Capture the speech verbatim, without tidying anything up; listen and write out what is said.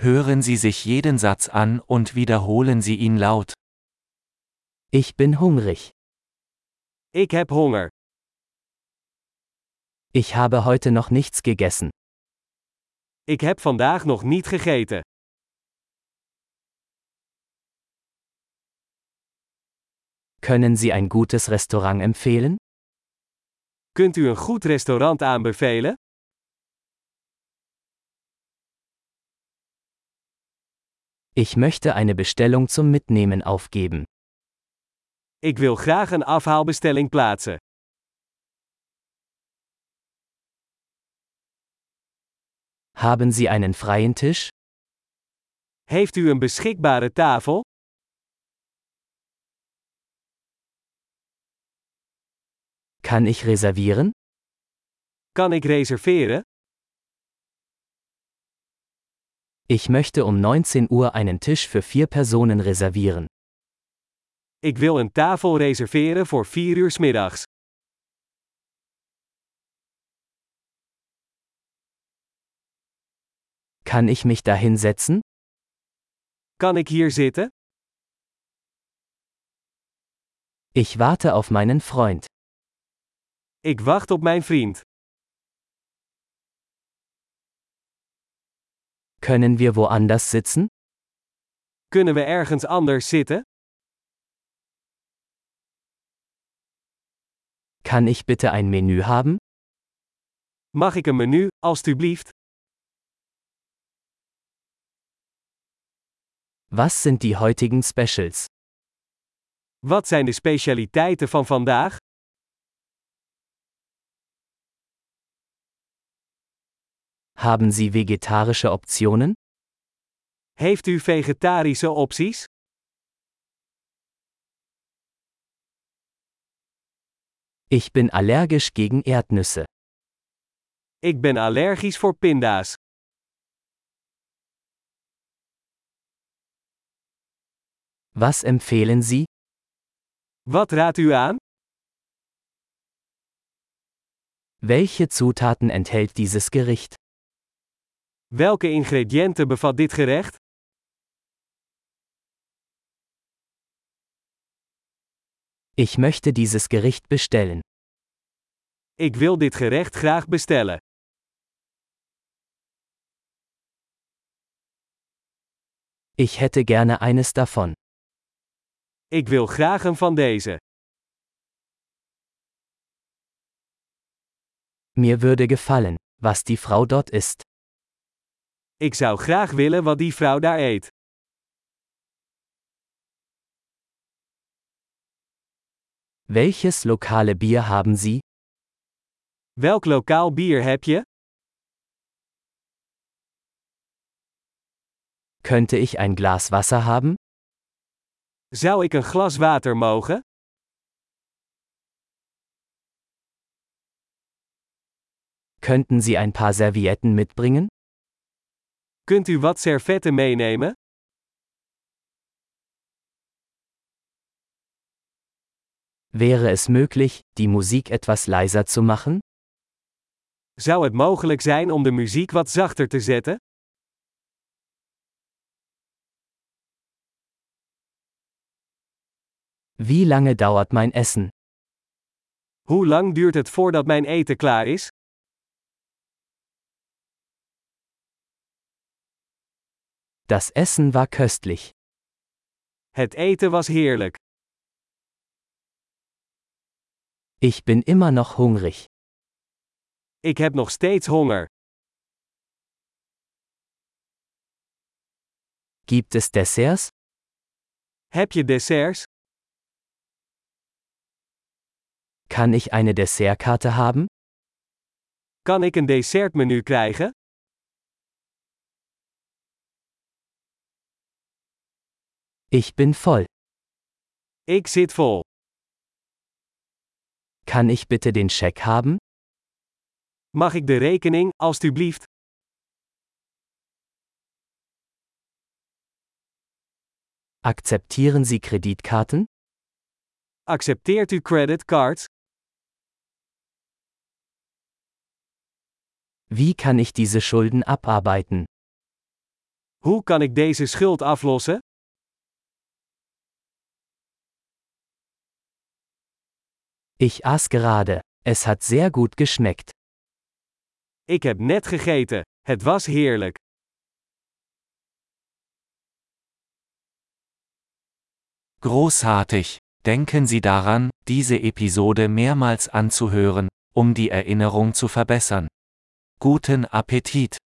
Hören Sie sich jeden Satz an und wiederholen Sie ihn laut. Ich bin hungrig. Ik heb honger. Ich habe heute noch nichts gegessen. Ik heb vandaag nog niet gegeten. Können Sie ein gutes Restaurant empfehlen? Kunt u een goed restaurant aanbevelen? Ich möchte eine Bestellung zum Mitnehmen aufgeben. Ik wil graag een afhaalbestelling plaatsen. Haben Sie einen freien Tisch? Heeft u een beschikbare tafel? Kann ich reservieren? Kan ik reserveren? Ich möchte um neunzehn Uhr einen Tisch für vier Personen reservieren. Ik wil een tafel reserveren voor vier uur 's middags. Kann ich mich da hinsetzen? Kan ik hier zitten? Ich warte auf meinen Freund. Ik wacht op mijn vriend. Können wir woanders sitzen? Kunnen we ergens anders zitten? Kann ich bitte ein Menü haben? Mag ik een menu, alstublieft? Was sind die heutigen Specials? Wat zijn de specialiteiten van vandaag? Haben Sie vegetarische Optionen? Heeft u vegetarische opties? Ich bin allergisch gegen Erdnüsse. Ik ben allergisch voor pinda's. Was empfehlen Sie? Wat raadt u aan? Welche Zutaten enthält dieses Gericht? Welke ingrediënten bevat dit gerecht? Ich möchte dieses Gericht bestellen. Ik wil dit gerecht graag bestellen. Ich hätte gerne eines davon. Ik wil graag een van deze. Mir würde gefallen, was die Frau dort isst. Ik zou graag willen wat die vrouw daar eet. Welches lokale Bier haben Sie? Welk lokaal bier heb je? Könnte ich ein Glas Wasser haben? Zou ik een glas water mogen? Könnten Sie ein paar Servietten mitbringen? Kunt u wat servetten meenemen? Wäre es möglich, die Musik etwas leiser zu machen? Zou het mogelijk zijn om de muziek wat zachter te zetten? Wie lange dauert mein Essen? Hoe lang duurt het voordat mijn eten klaar is? Das Essen war köstlich. Het eten was heerlijk. Ich bin immer noch hungrig. Ik heb nog steeds honger. Gibt es Desserts? Heb je desserts? Kann ich eine Dessertkarte haben? Kan ik een dessertmenu krijgen? Ich bin voll. Ik zit vol. Kann ich bitte den Scheck haben? Mag ik de rekening, alstublieft? Akzeptieren Sie Kreditkarten? Accepteert u creditcards? Wie kann ich diese Schulden abarbeiten? Hoe kan ik deze schuld aflossen? Ich aß gerade. Es hat sehr gut geschmeckt. Ik heb net gegeten. Het was heerlijk. Großartig! Denken Sie daran, diese Episode mehrmals anzuhören, um die Erinnerung zu verbessern. Guten Appetit!